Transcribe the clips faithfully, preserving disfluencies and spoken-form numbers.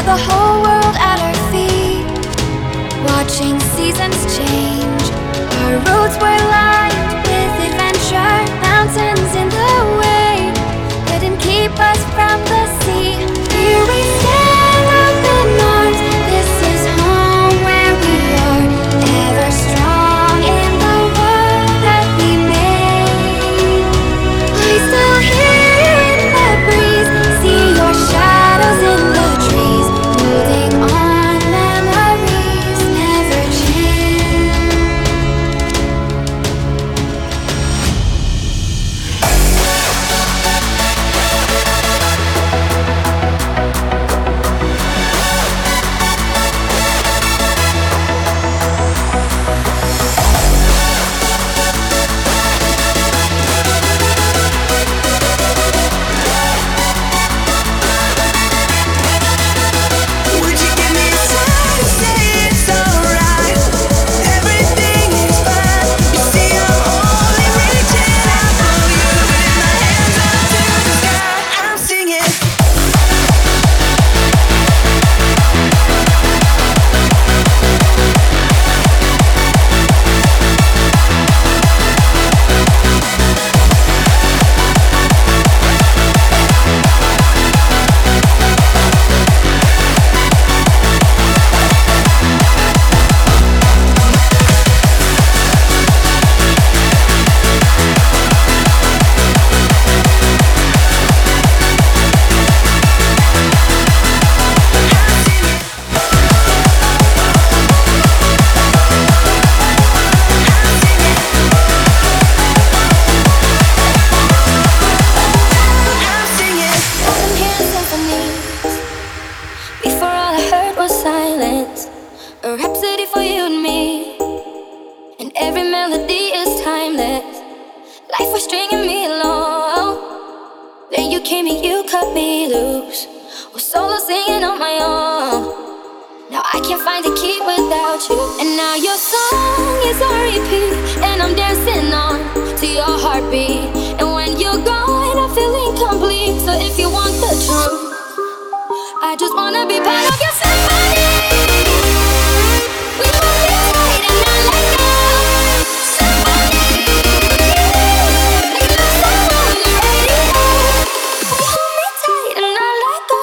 the whole world at our feet, watching seasons change. Our roads were lined with adventure, mountains in the way couldn't keep us from the sea. Here we stand up in arms. This is home where we are, ever strong in the world that we made. I still hear in the breeze, see your shadows in the trees, holding on, memories never change. Would you give me time to say it's alright? Everything is fine. You see, I'm only reaching out for you, with my hands up to the sky. I'm singing. I'm singing. I'm hearing symphonies. Before all I heard was silence, a rhapsody for you and me. And every melody is timeless. Life was stringing me along. Then you came and you cut me loose. Was solo singing on my own. Now I can't find a key without you. And now your song is on repeat, and I'm dancing on to your heartbeat. And when you're gone, I feel incomplete. So if you want the truth, I just wanna be part of your symphony. We hold it tight and not let go. Symphony, like a love song on the radio. We hold me tight and not let go.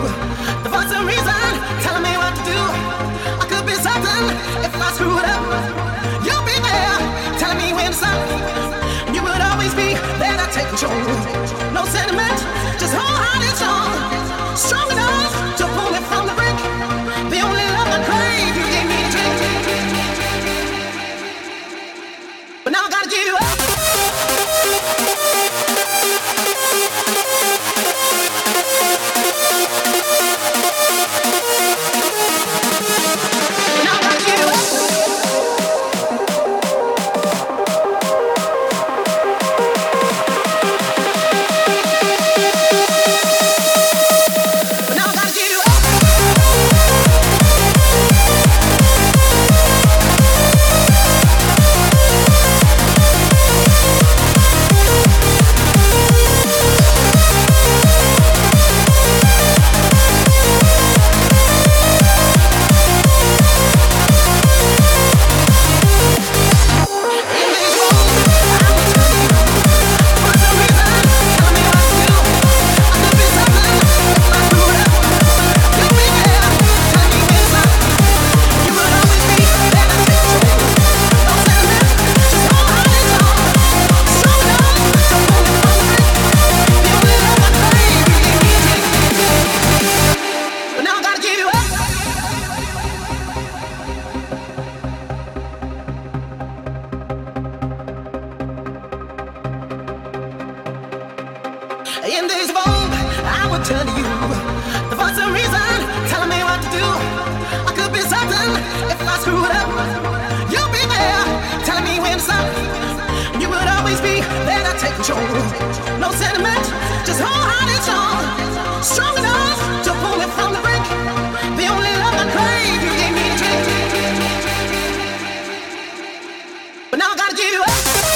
The voice of reason telling me what to do. I could be certain if I screw it up. You'll be there telling me when to stop. You would always be there to take control. No sentiment, just wholehearted strong. Strong enough to pull me from the brink. The only love I crave, you gave me a drink. But now I gotta give you up. In days of old, I would turn to you. The voice of reason telling me what to do. I could be certain if I screw it up. You'll be there telling me when to stop. You would always be there to take control. No sentiment, just wholehearted strong. Strong enough to pull me from the brink. The only love I crave, you gave me a drink. But now I gotta give you up.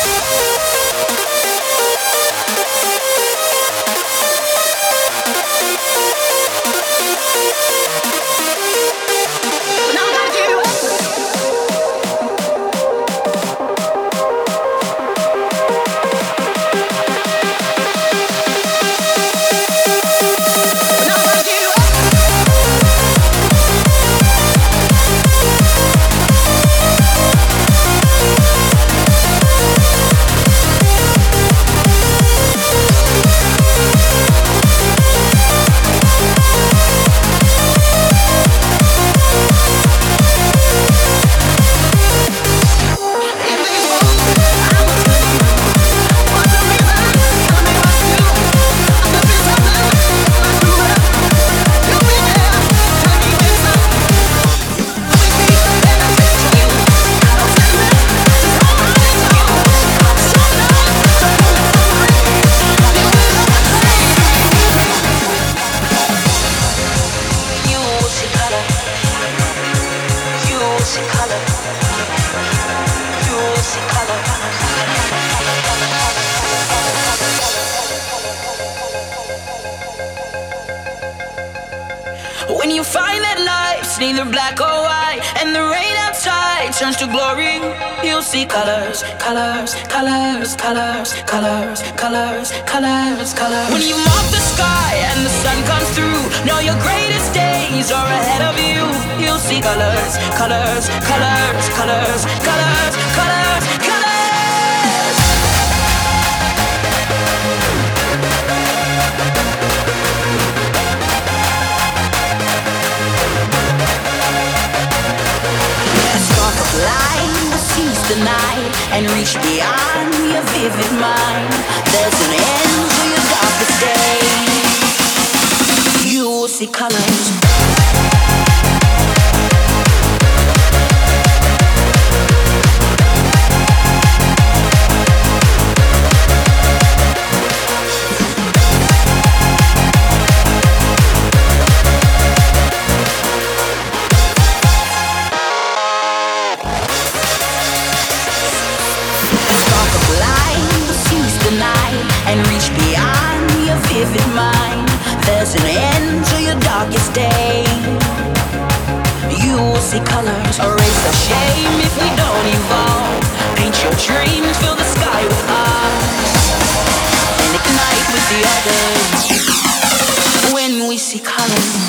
When you find that life's neither black or white, and the rain outside turns to glory, you'll see colors, colors, colors, colors, colors, colors, colors, colors. When you mop the sky and the sun comes through, know your greatest days are ahead of you. You'll see colors, colors, colors, colors, colors, colors, colors. Light will seize the night and reach beyond your vivid mind. There's an end to your darkest day. You will see colors. And reach beyond your vivid mind. There's an end to your darkest day. You will see colors. Erase the shame if we don't evolve. Paint your dreams, fill the sky with us, and ignite with the others when we see colors.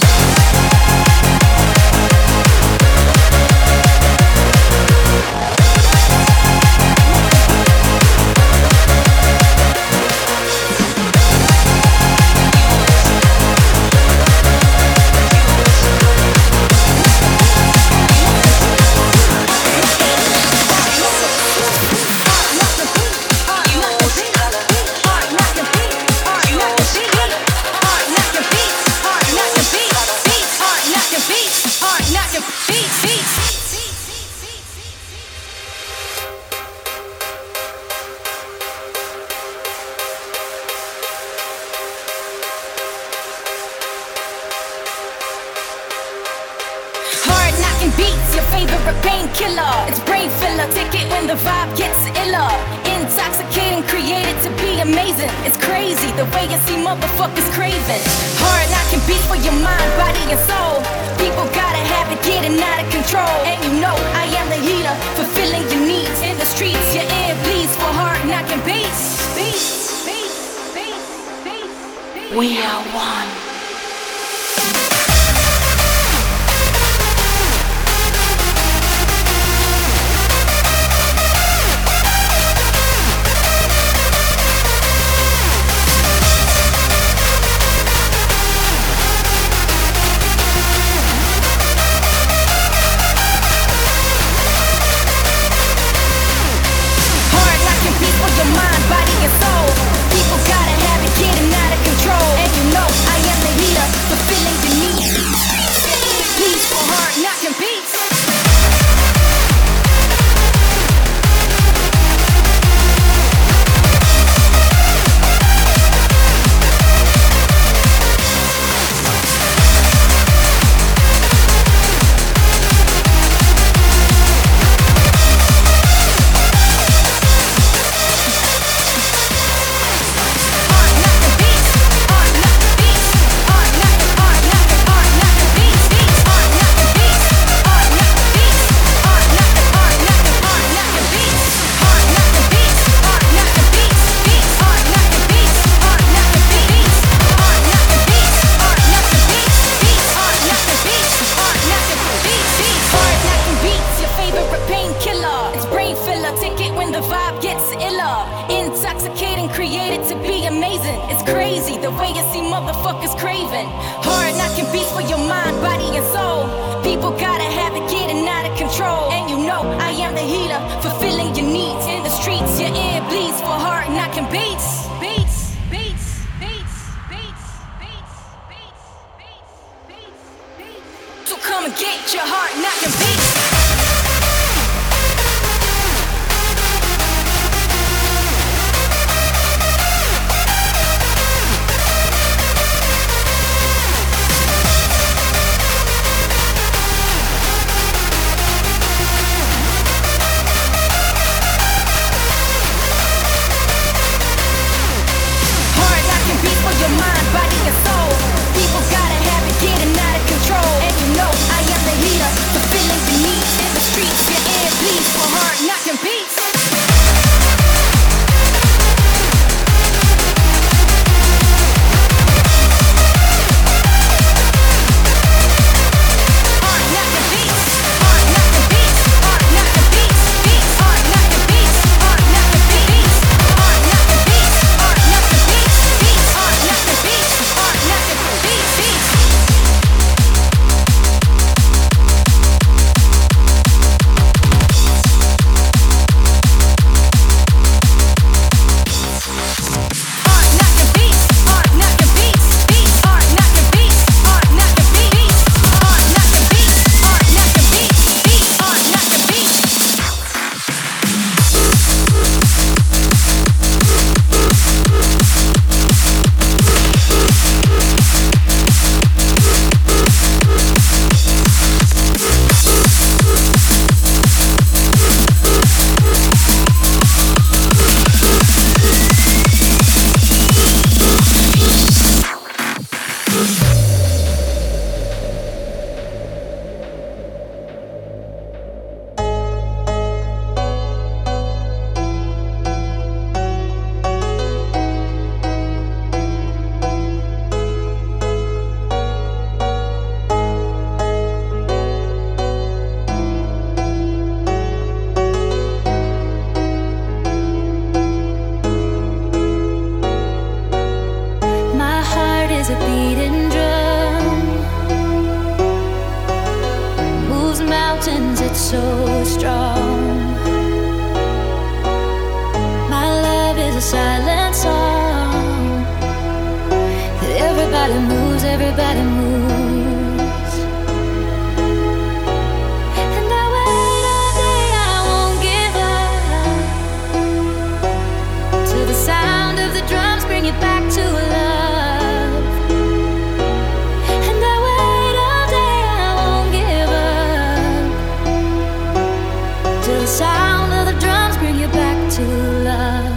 People gotta have it getting out of control. And you know I am the heater, fulfilling the needs. so strong. My love is a silent song that everybody moves, everybody moves. And I wait all day, I won't give up till the sound of the drums bring you back to love. And I wait all day, I won't give up till the sound of the drums bring you back to love.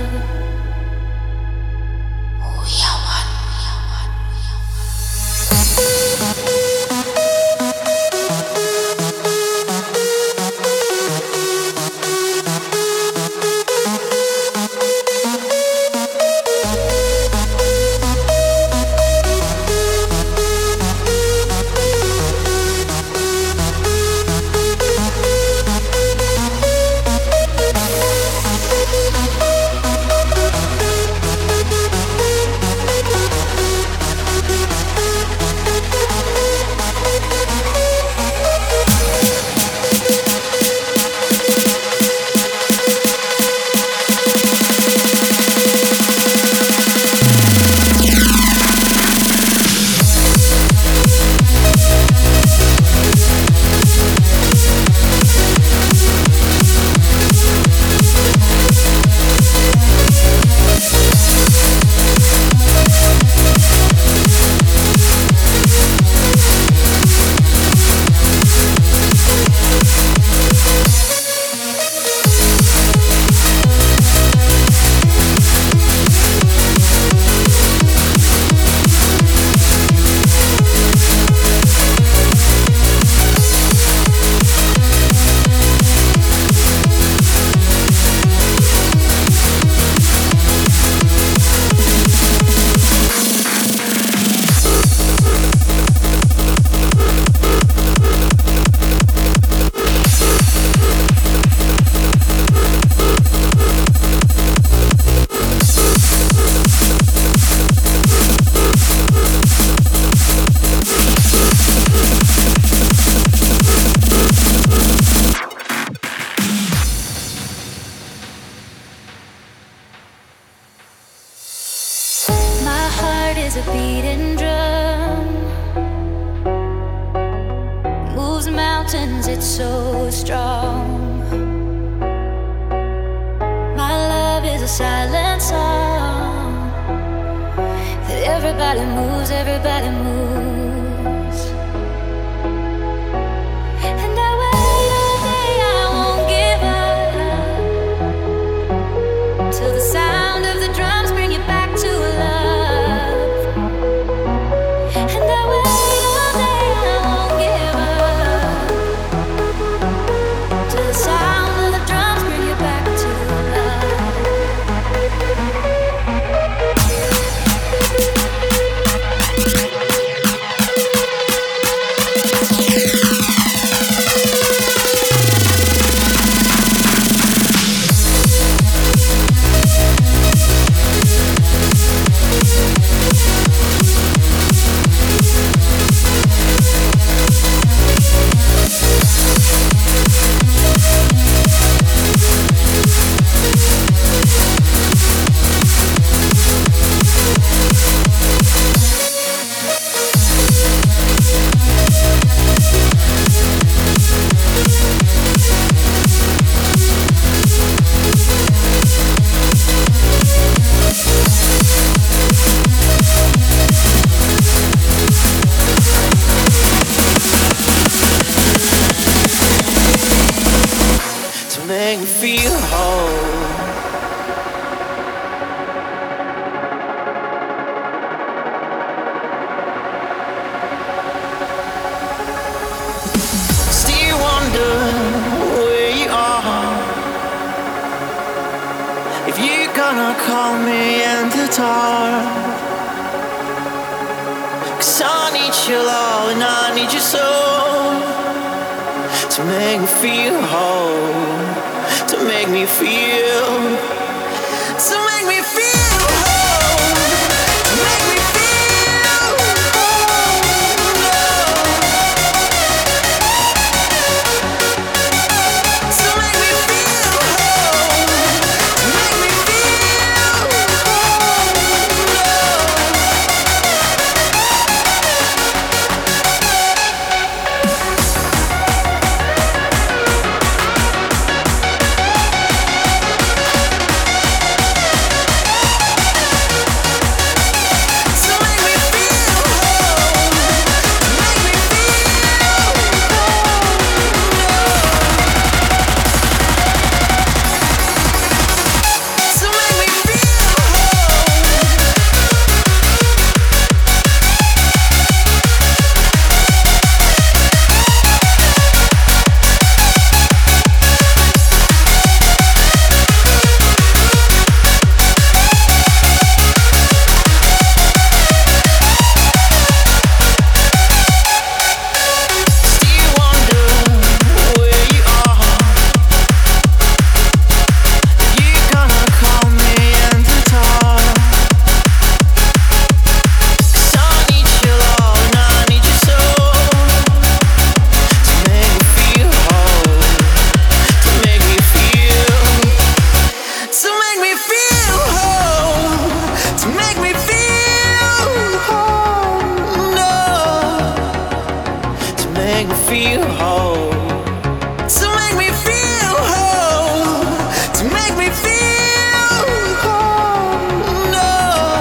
make me feel whole. To make me feel whole. To make me feel whole. No.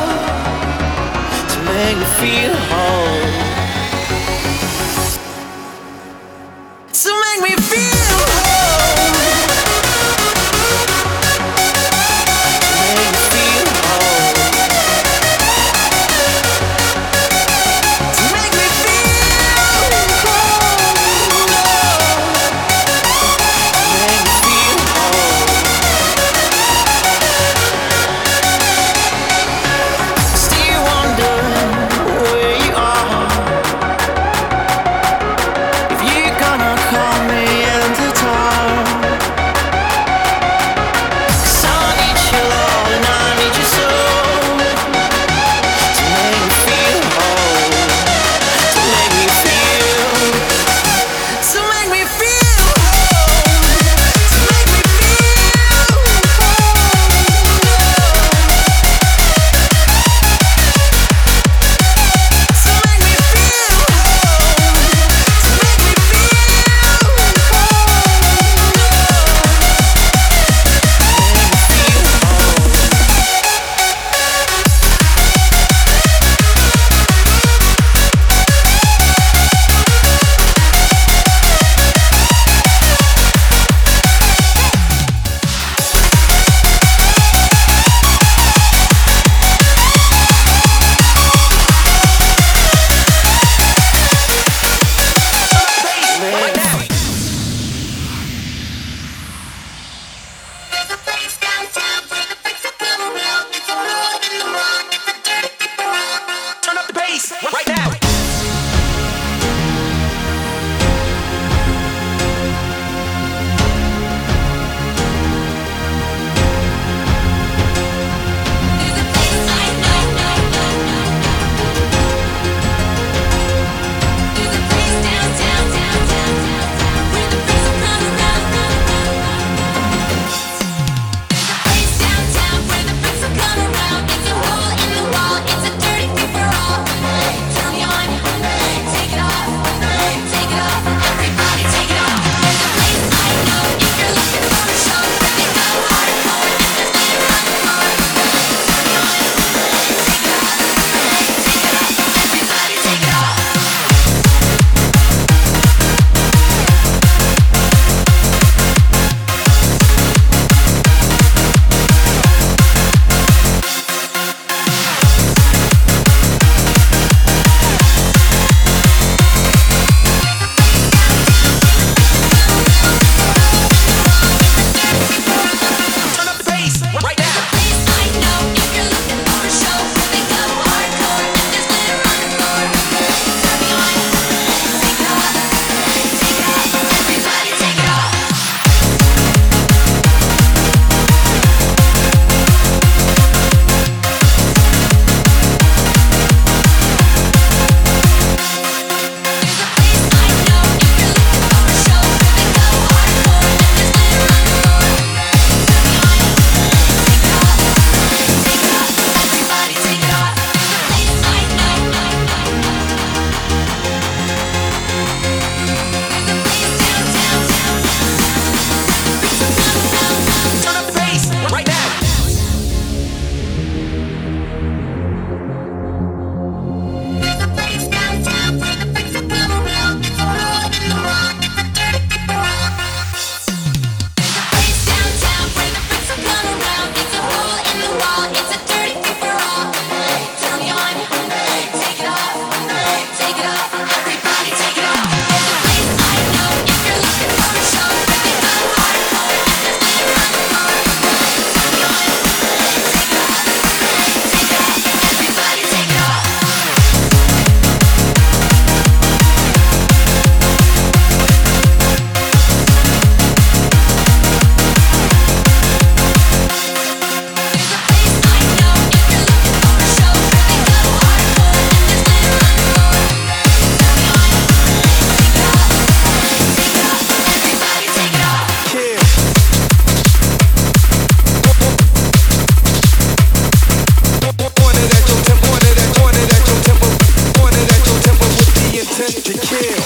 To make me feel whole. To make me feel whole. To make me feel whole. To make me feel whole. No. To make me feel whole. Still wondering where you are. If you're gonna call me and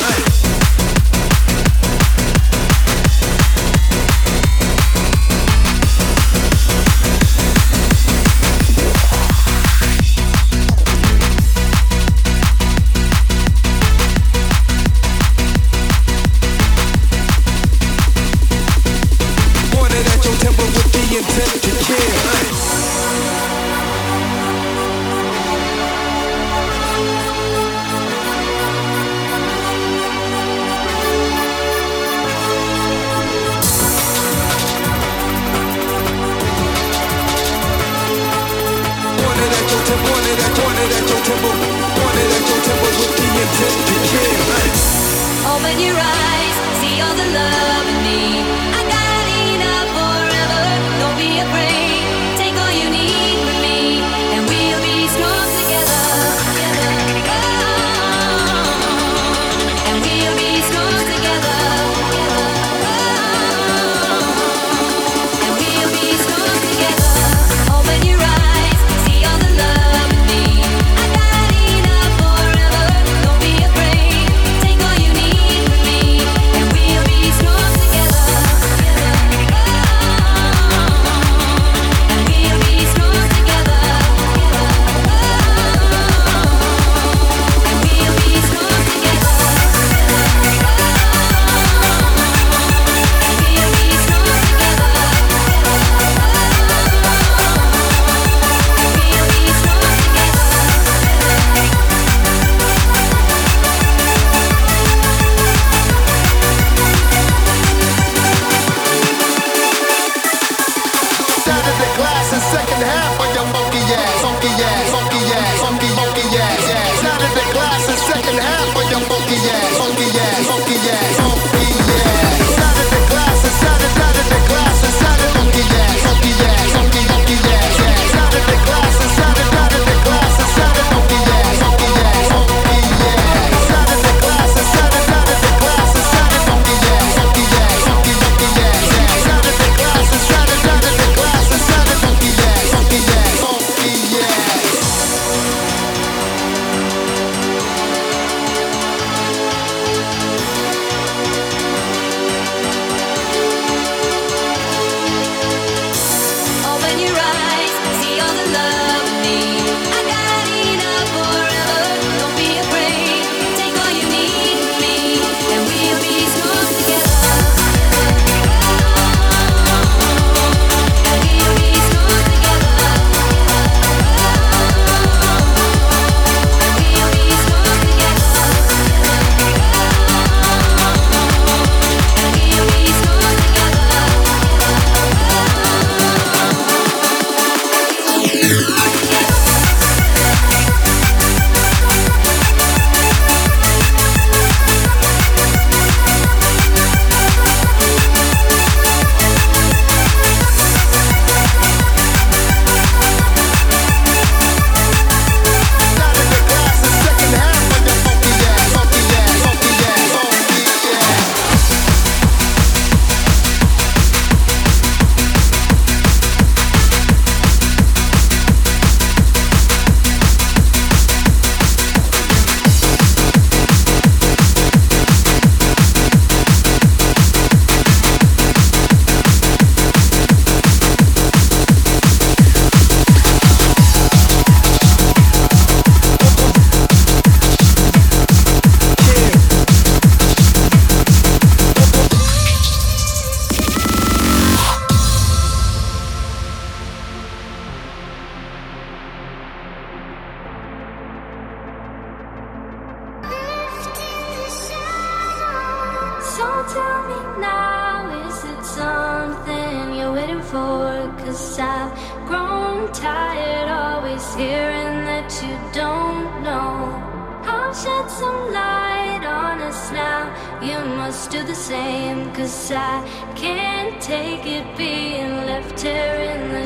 tell me now, is it something you're waiting for? 'Cause I've grown tired always hearing that you don't know. I'll shed some light on us now, you must do the same. 'Cause I can't take it being left here in the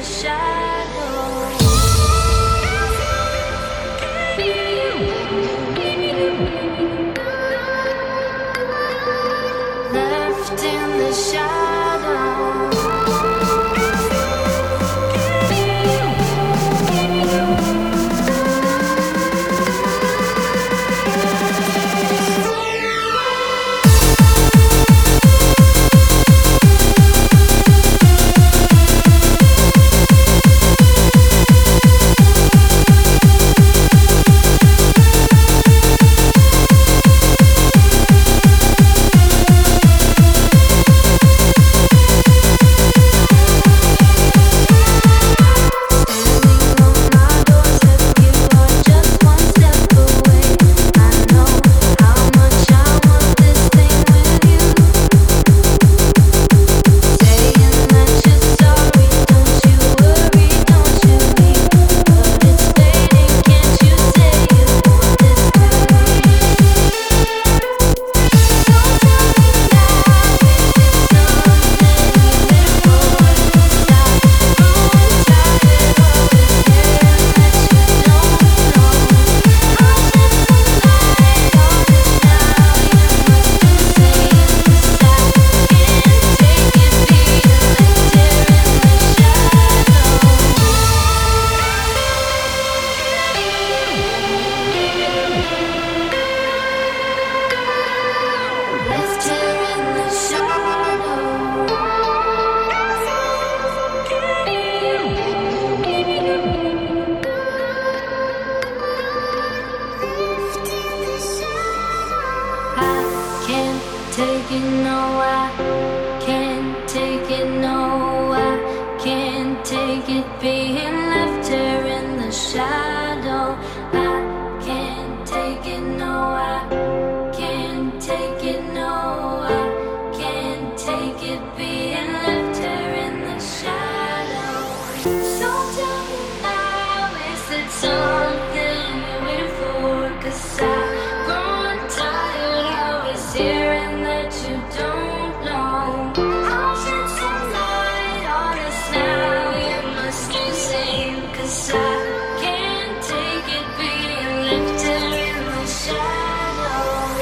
shadows. Left in the shadows. can't take it, no, I can't take it, no, I can't take it being left here in the shadow. I can't take it, no, I can't take it, no, I can't take it being left here in the shadow. So tell me now, is it something you're waiting for? 'Cause I've grown tired, I was hearing that you don't know. I'll shed some light on us now, you must be sane. 'Cause I can't take it being left here in the shadow.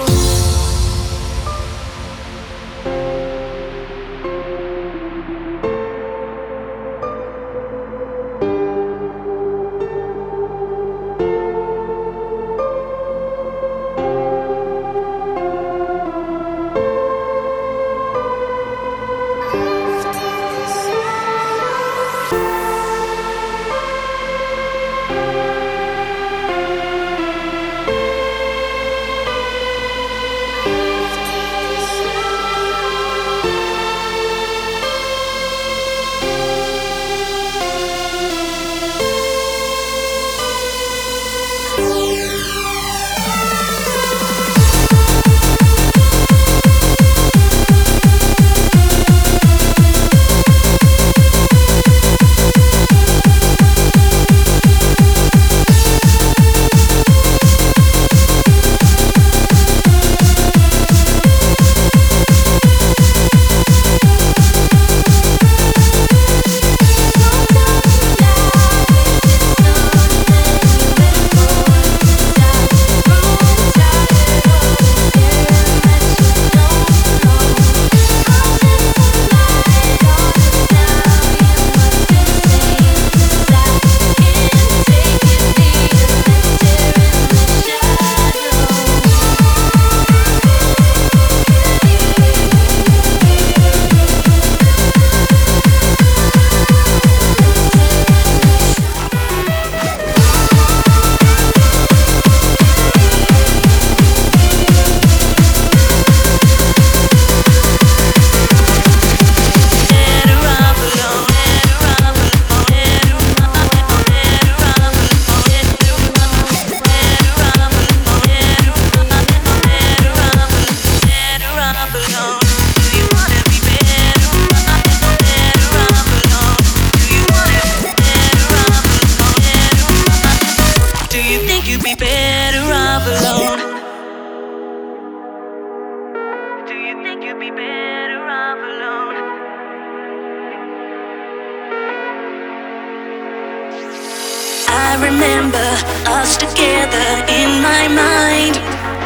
I remember us together in my mind.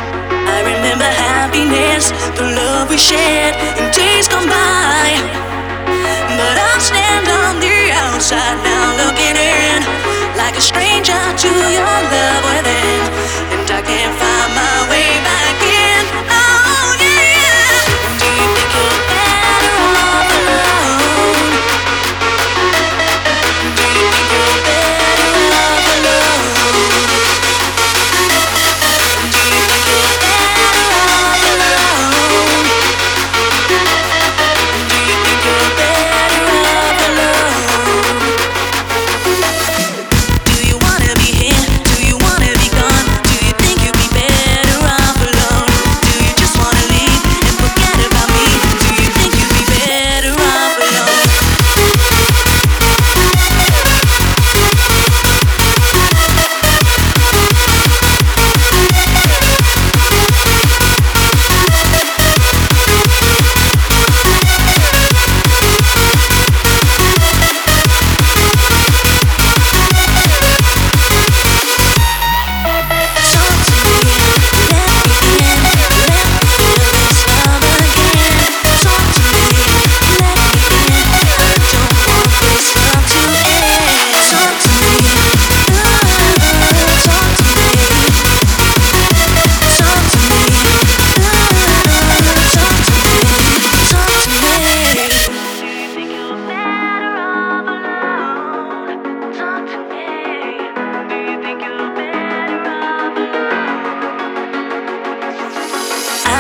I remember happiness, the love we shared in days gone by. But I stand on the outside now, looking in like a stranger to your love within, and I can't find my way back in. Oh yeah. Do you think you're better off alone? Do you think you're better off alone? Do you think you're better off alone? Do you think you're better off alone? Do you wanna be here? Do you wanna be gone? Do you think you'd be better off alone?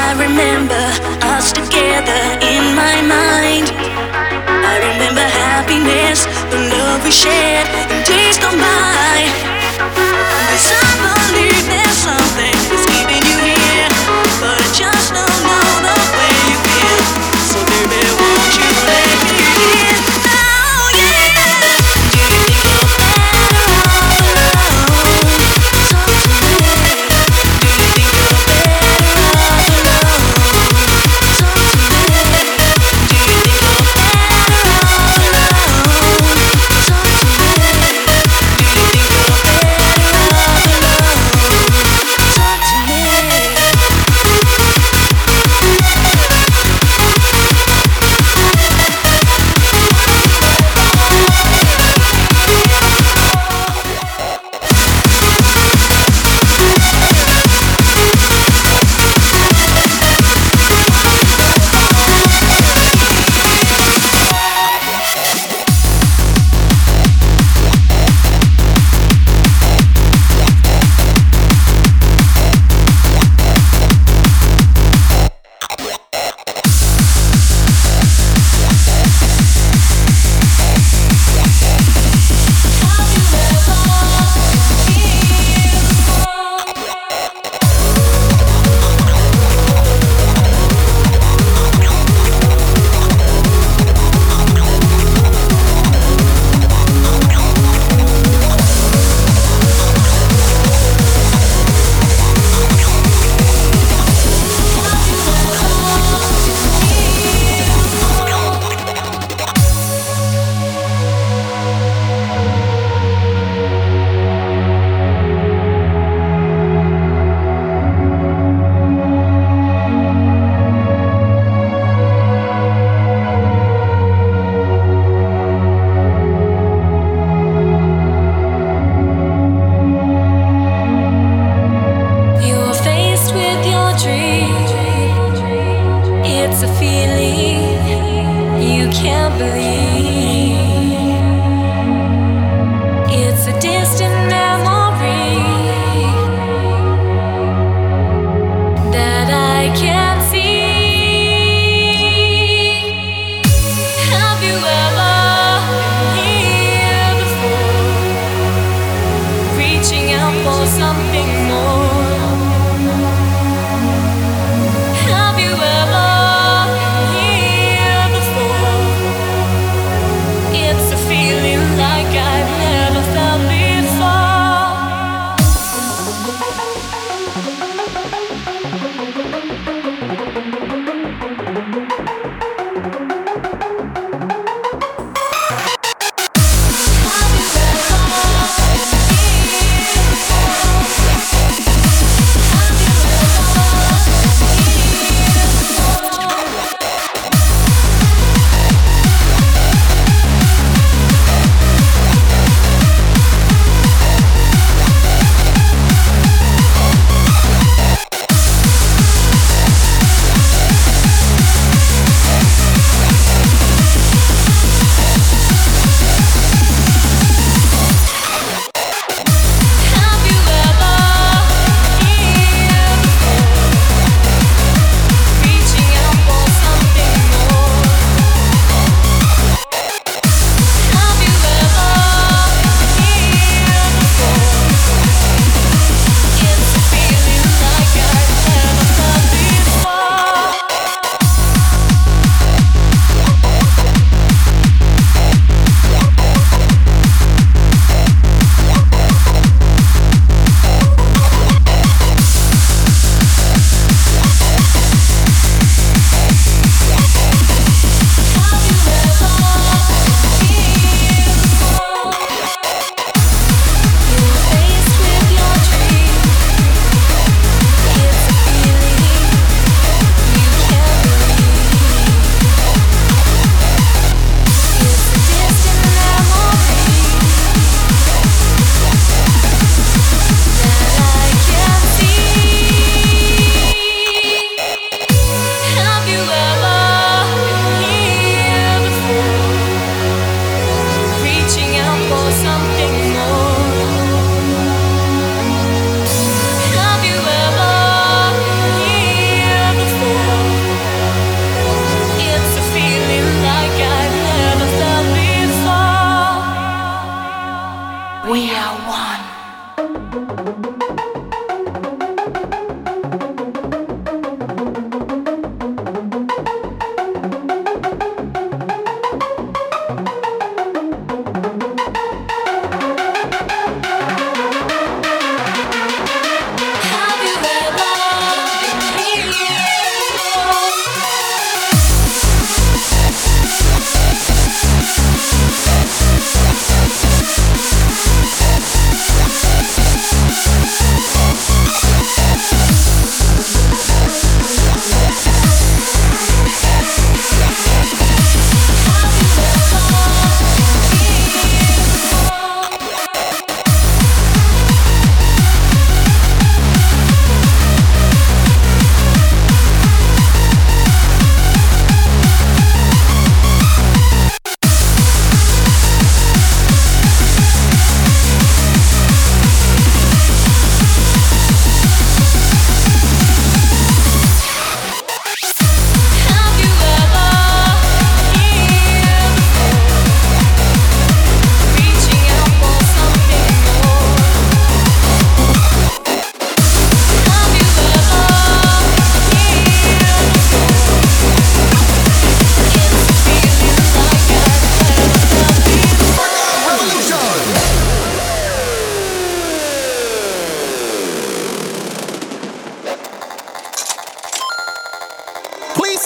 I remember us together in my mind. I remember happiness, the love we shared in days gone by. 'Cause I believe there's something that's keeping you here, but I just don't know the way you feel. So baby, won't you let me in now, yeah? Do you think you're better off alone? Talk to me. Do you think you're better off alone? Talk to me. Do you think you're better off alone? Talk to me. Do you think you're better off alone? Talk to me.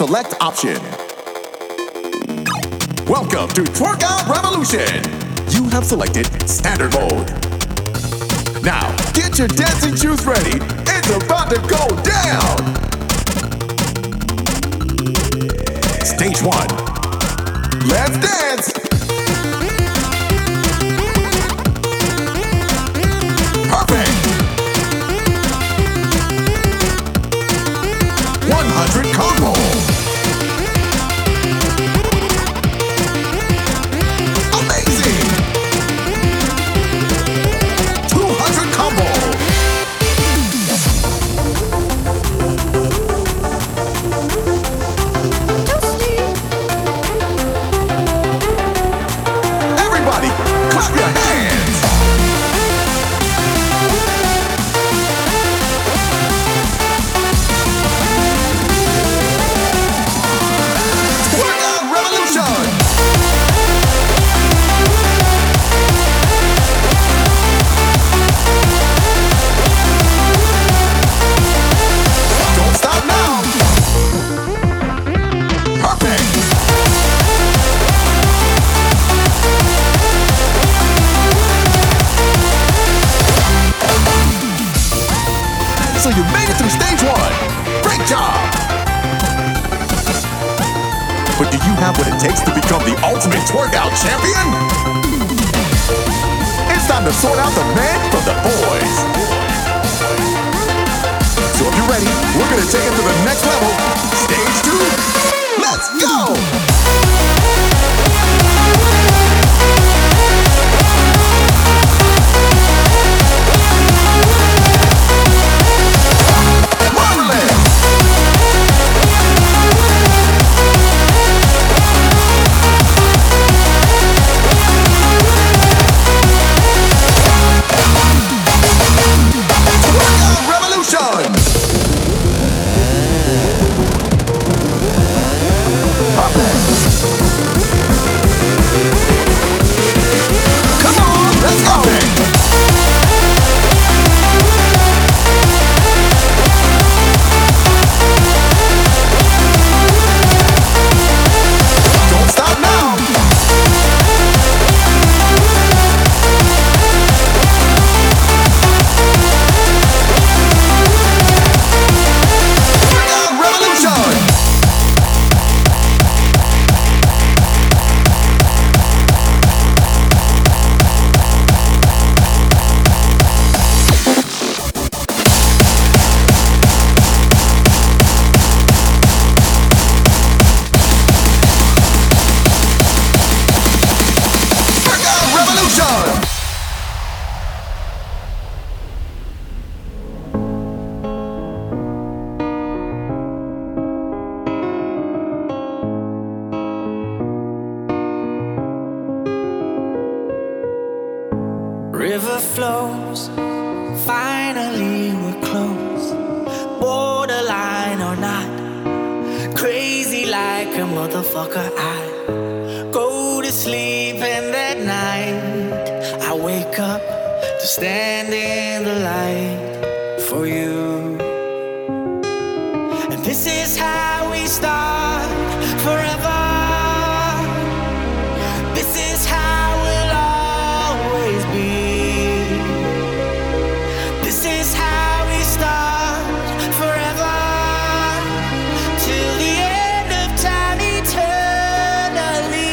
select option. Welcome to Twerk Out Revolution. You have selected standard mode. Now, get your dancing shoes ready. It's about to go down. Stage one. Let's dance. Perfect. one hundred combo. Amazing. two hundred combo. Everybody, clap your hands. Twerk Out Revolution. Don't stop now. Perfect. So you made it through stage one. Great job. But do you have what it takes to become the ultimate twerk out champion? It's time to sort out the men from the boys. So if you're ready, we're gonna take it to the next level. Stage two. Let's go! Marvelous! Twerk Out Revolution! Come on, let's go! Don't stop now! Twerk Out Revolution! Twerk Out Revolution! River flows, finally we're close. Borderline or not, crazy like a motherfucker. I go to sleep and that night I wake up to stand in the light for you. And this is how we start forever. This is how we'll always be. This is how we start forever, till the end of time eternally.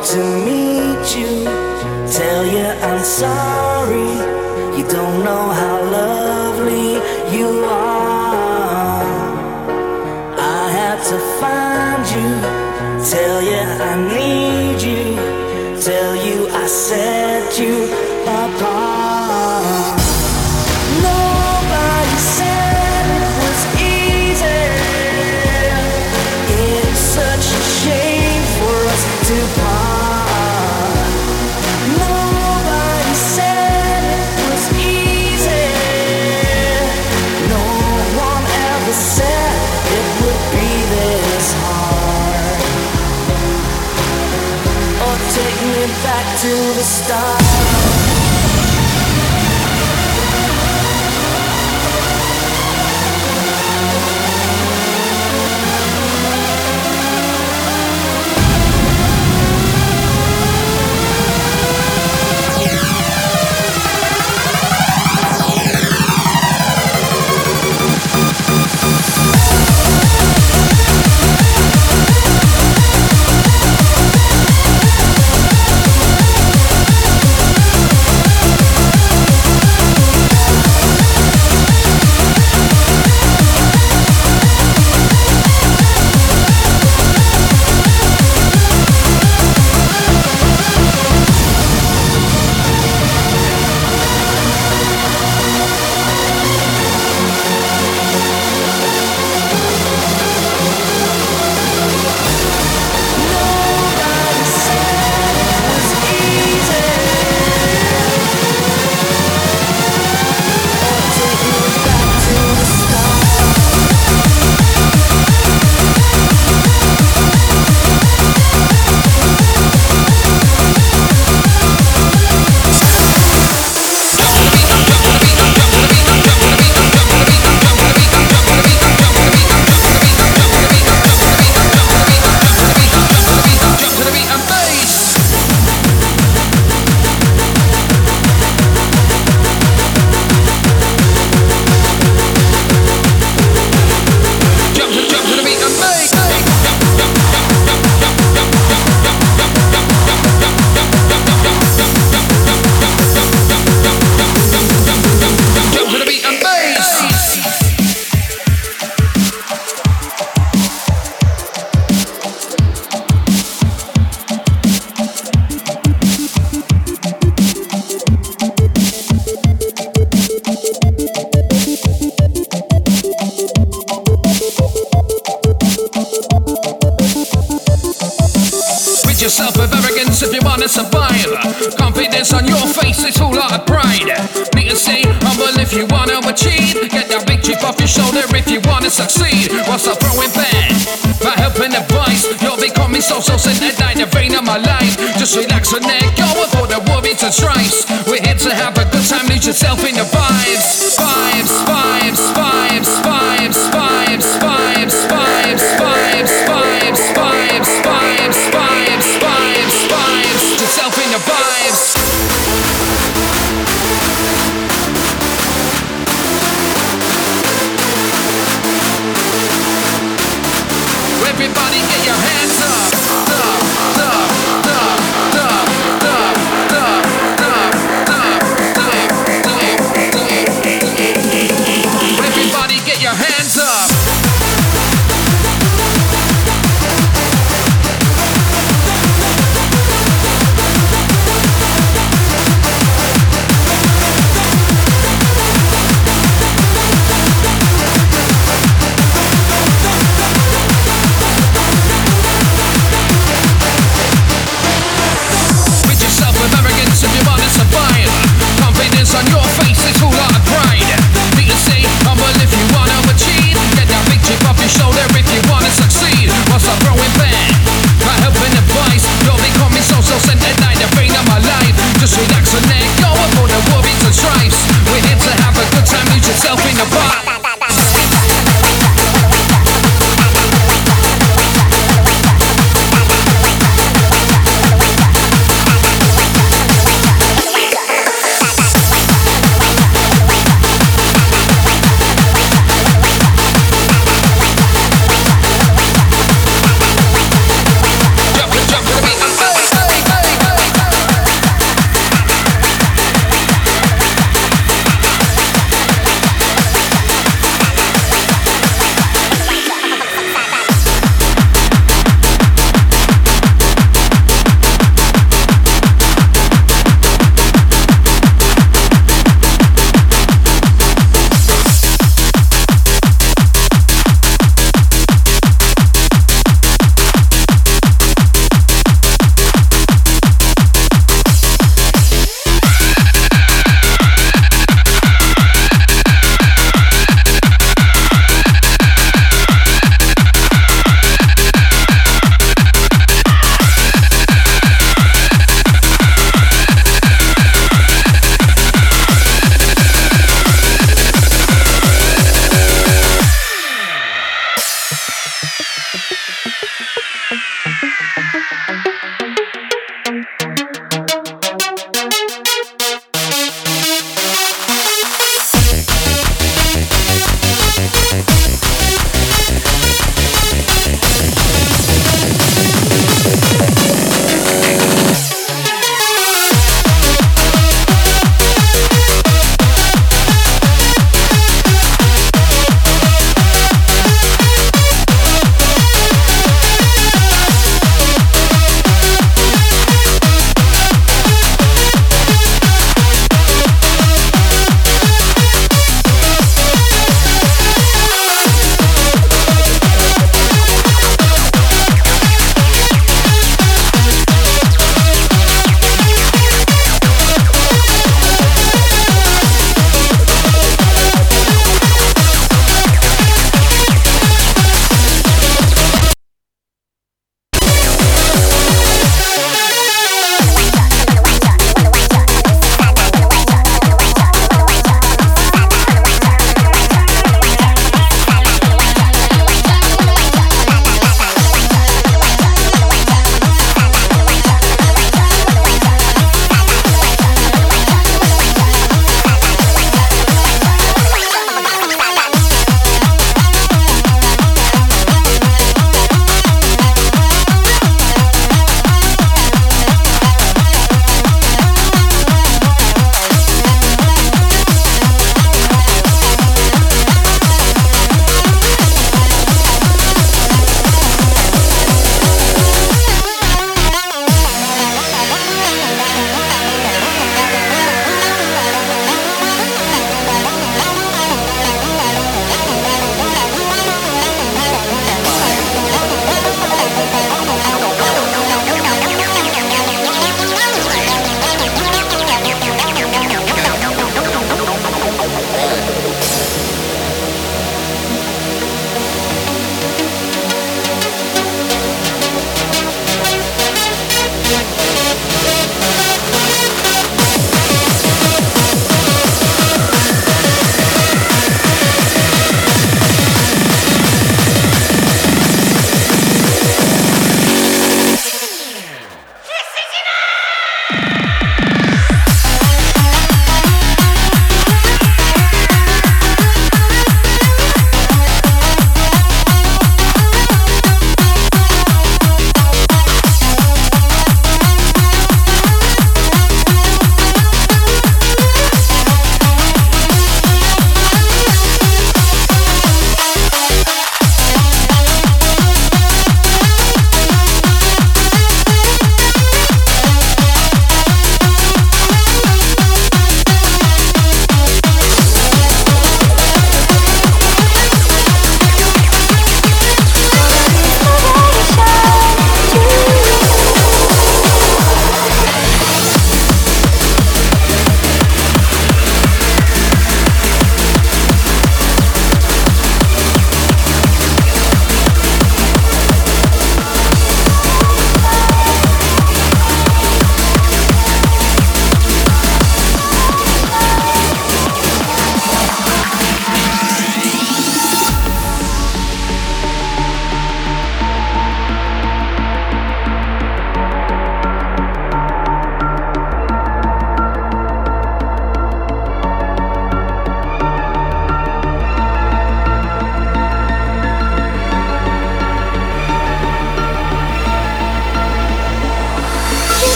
to meet you, tell you I'm sorry. You don't know how lovely you are. I had to find you, tell you I need you, tell you I set you apart. Nobody said it was easy. It's such a shame for us to part. Nobody said it was easy. No one ever said it would be this hard. Or take me back to the start. Yourself with arrogance if you wanna survive. Confidence on your face, it's all out of pride. Need to say humble if you wanna achieve. Get that big chip off your shoulder if you wanna succeed. Whilst I throw in bed, by helping advice, you're becoming so so centered in the vein of my life. Just relax and let go of all the worries and strifes. We're here to have a good time, lose yourself in the vibes. Vibes, vibes, vibes, vibes, vibes, vibes, vibes, vibes, vibes, vibes, vibes, vibes, vibes, vibes, yourself in the vibes. Everybody get your hands up, up, up, up, up, up, up, up, up, up, up. Everybody get your hands up.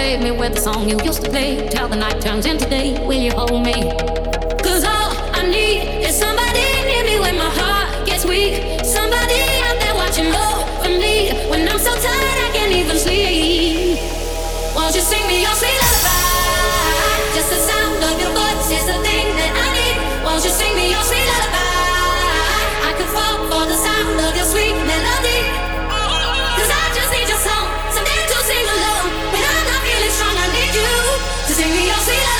serenade me with the song you used to play till the night turns into day. Will you hold me? Cause all I need is somebody near me when my heart gets weak. Somebody out there watching over me when I'm so tired I can't even sleep. Won't you sing me your sweet lullaby? Just the sound of your voice is the thing that I need. Won't you sing me your sweet lullaby? I could fall for the sound of your sweet melody. Cause I just need your song, something to sing along. When I'm not feeling strong, I need you to sing me your sweet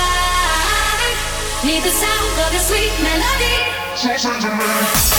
lullaby. Need the sound of your sweet melody. Say something to me.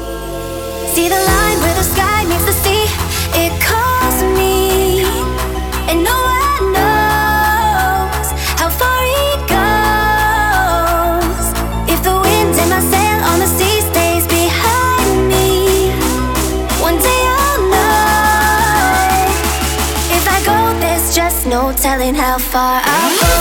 See the line where the sky meets the sea. It calls me. telling how far I'll go.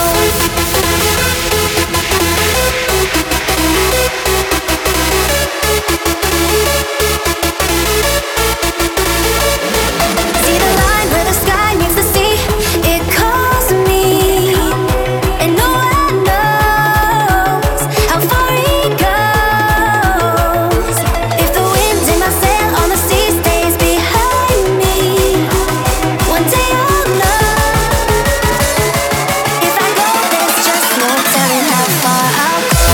See the line where the sky meets the sea, it calls me, and no one knows how far it goes. If the wind in my sail on the sea stays behind me, one day I'll know. If I go, there's just no telling how far I'll go.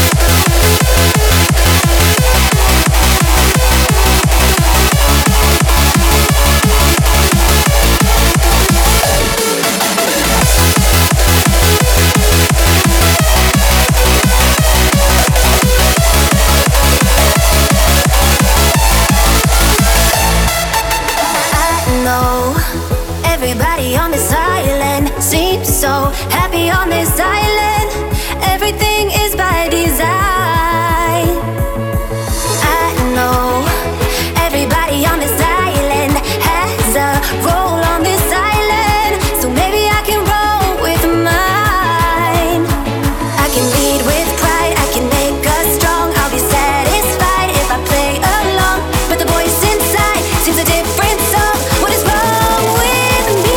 I know everybody on this island seems so happy on this island. Everything is by design. I know everybody on this island has a role on this island, so maybe I can roll with mine. I can lead with pride, I can make us strong. I'll be satisfied if I play along, but the voice inside sings a different song. What is wrong with me?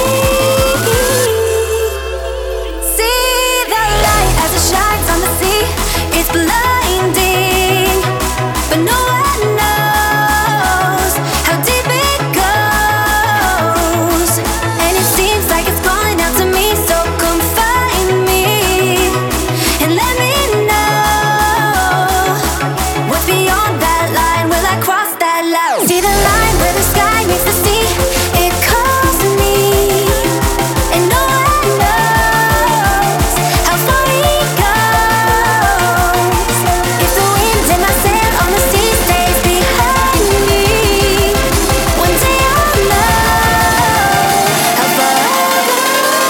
See the light as it shines on the sea. It's blinding, but no one knows how deep it goes. And it seems like it's calling out to me, so come find me and let me know what's beyond that line. Will I cross that line? See the line where the sky meets the sea, it calls me, and no one knows how far it goes. If the wind in my sail on the sea stays behind me, one day I'll know how far I'll go.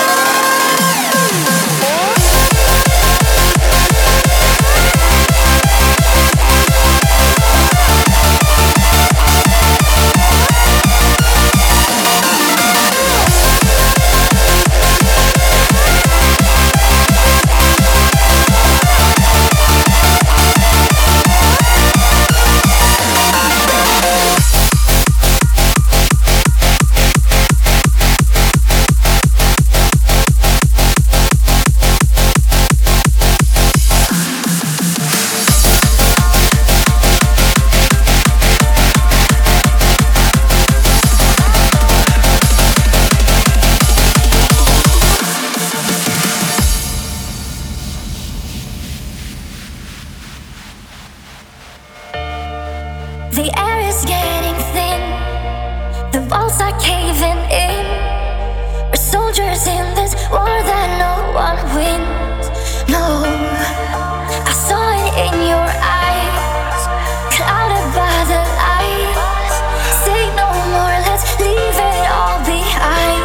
The air is getting thin, the walls are caving in. We're soldiers in this war that no one wins. No, I saw it in your eyes, clouded by the lights. Say no more, let's leave it all behind.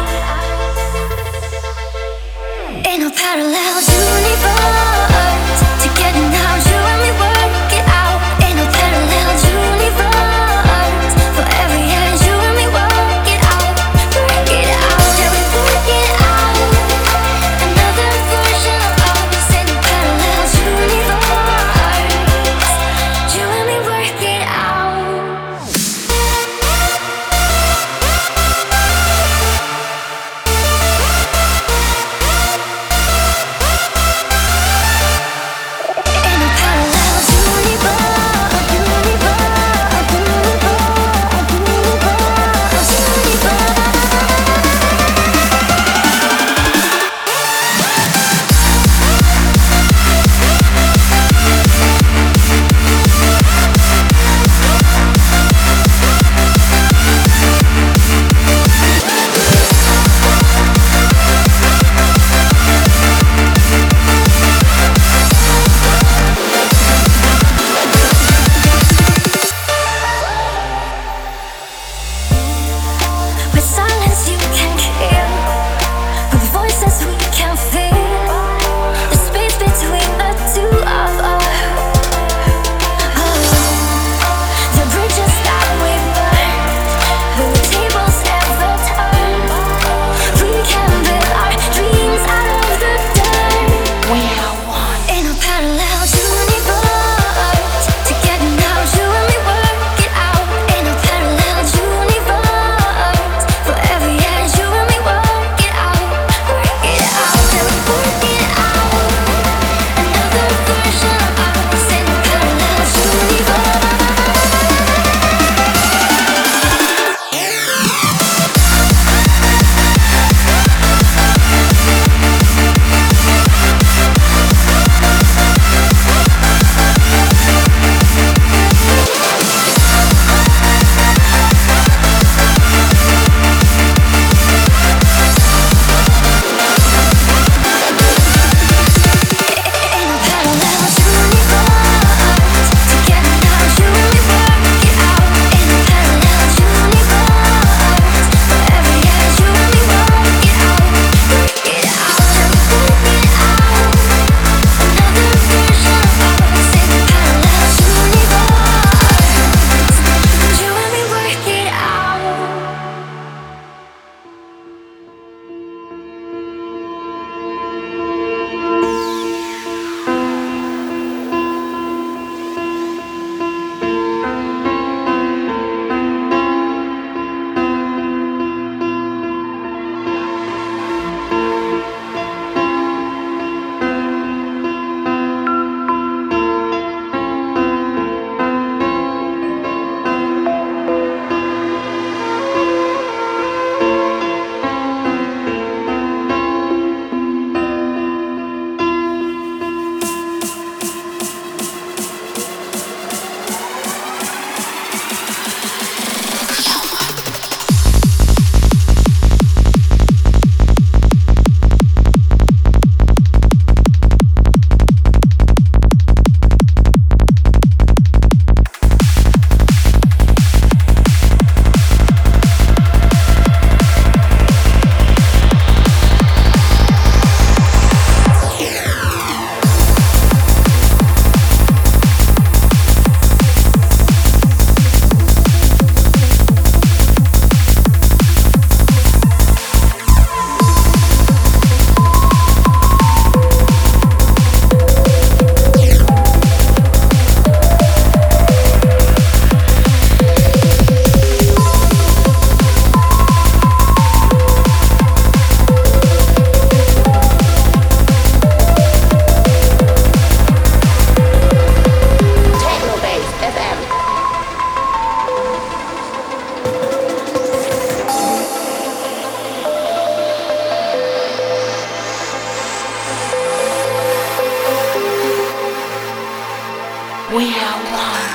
In a parallel universe, together now you and me work it out. In a parallel universe, forever yeah, you and me work it out, work it out, yeah we work it out. Another version of us in a parallel universe, you and me work it out. We are one.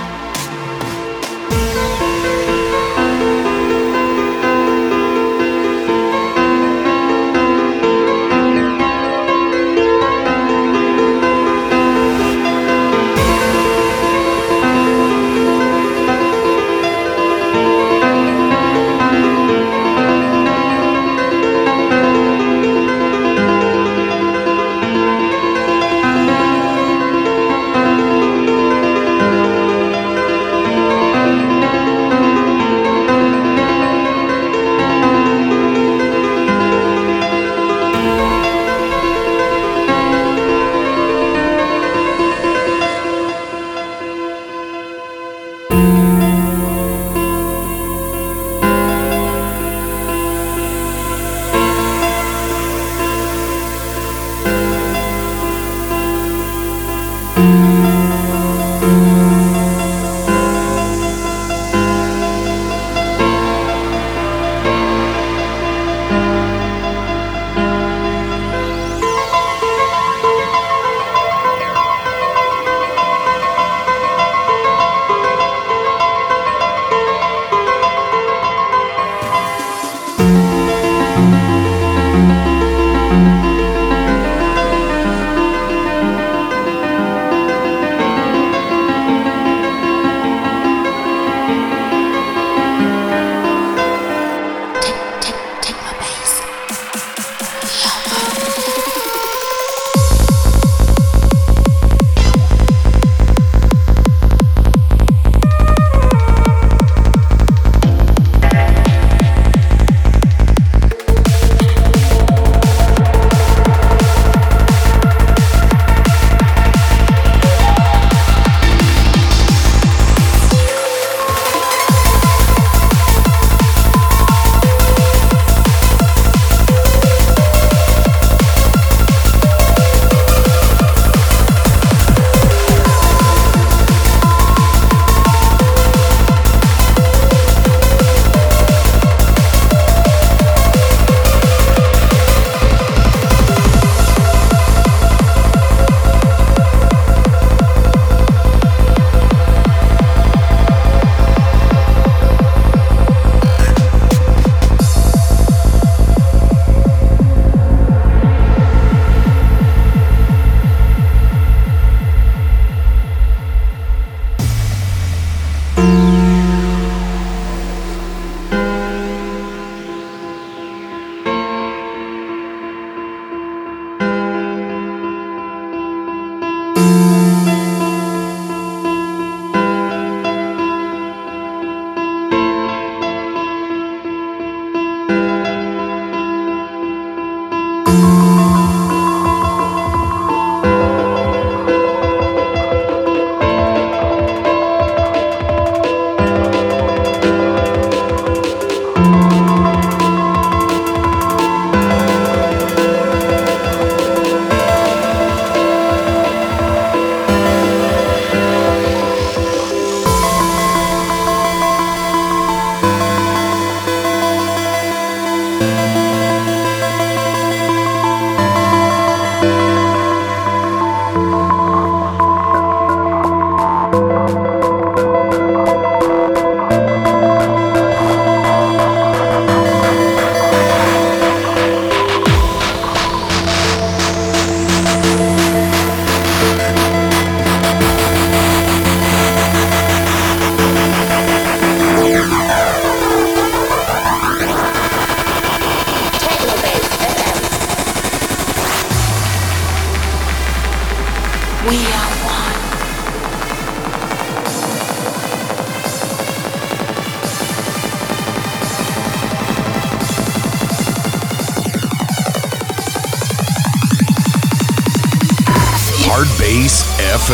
Hard Bass F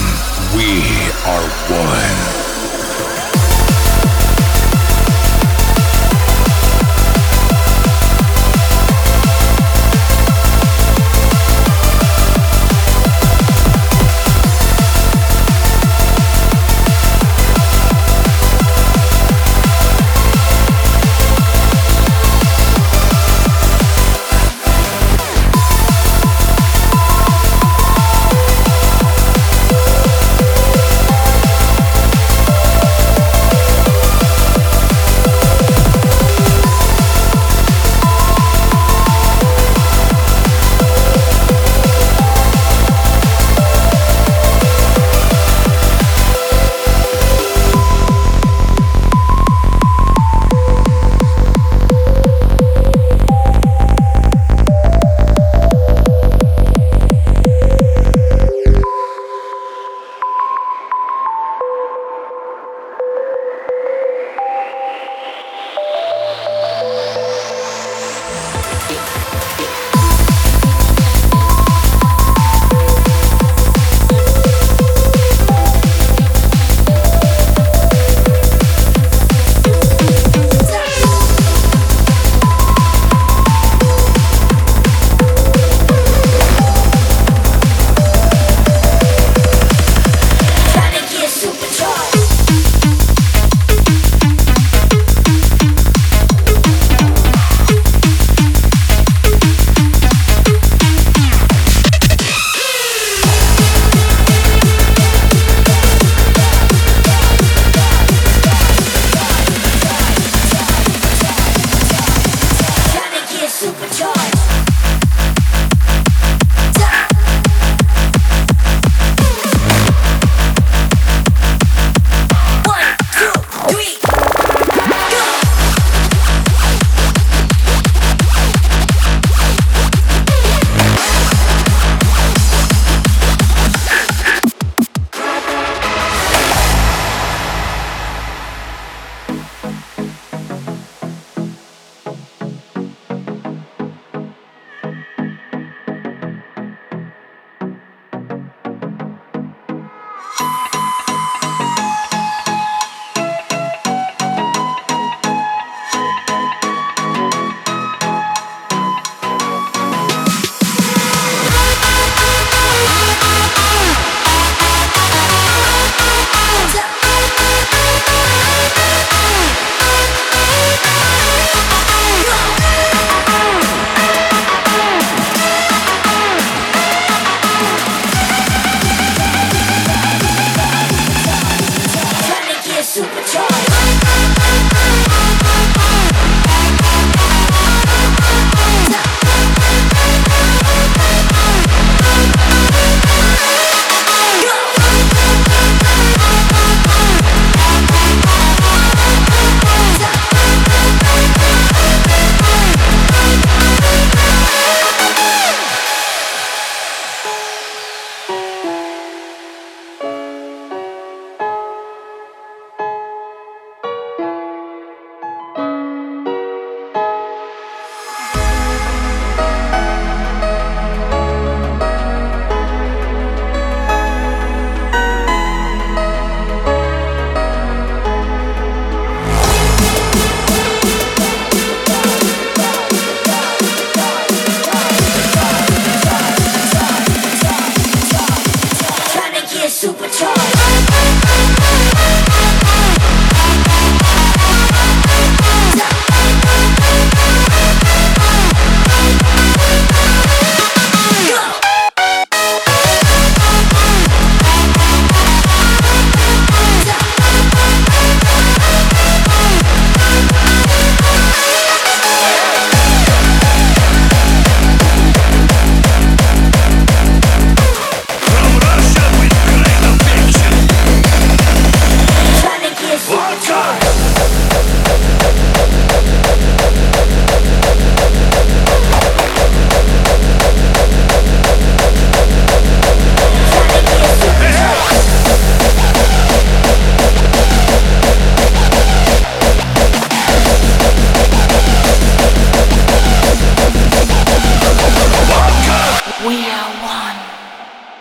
M. We are one. We'll be right back.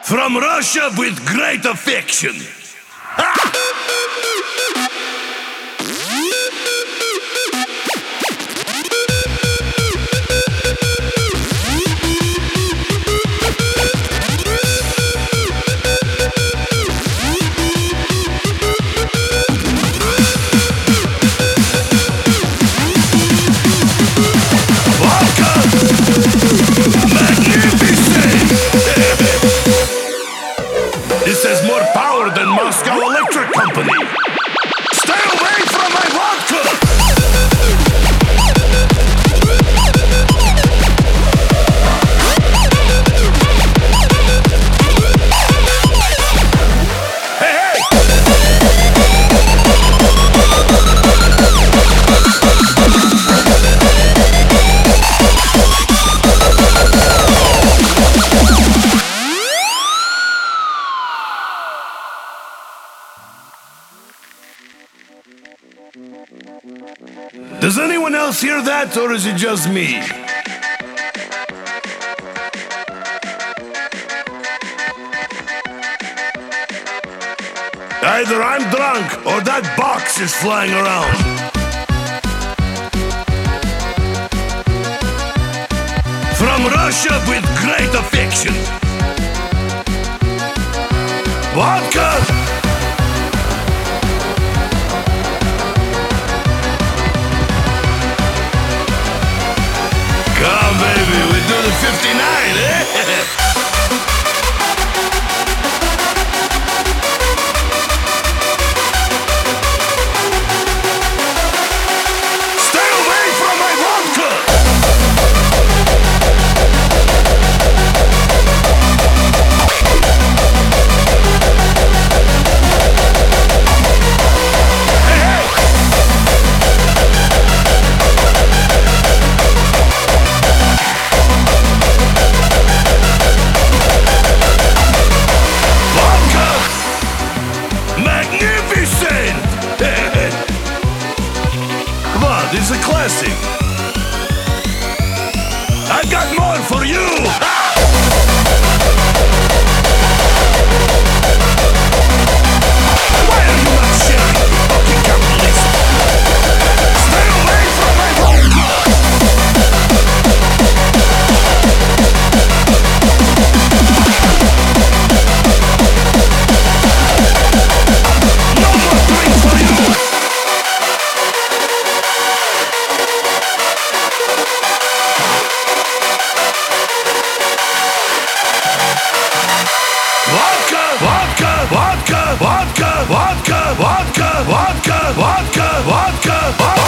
From Russia with great affection. This has more power than Moscow Electric Company. Stay away from my vodka! Does anyone else hear that, or is it just me? Either I'm drunk, or that box is flying around. From Russia with great affection. Vodka! Come, baby, we do the fifty-nine, eh? Stay away from my vodka! Hey, hey! Magnificent! Come on, this is a classic. I got more for you! Why are you not sharing, you fucking capitalist? Stay away from my vodka! No more drinks for you! Vodka, vodka, vodka, vodka, vodka, vodka, vodka, vodka, vodka, vodka, vodka.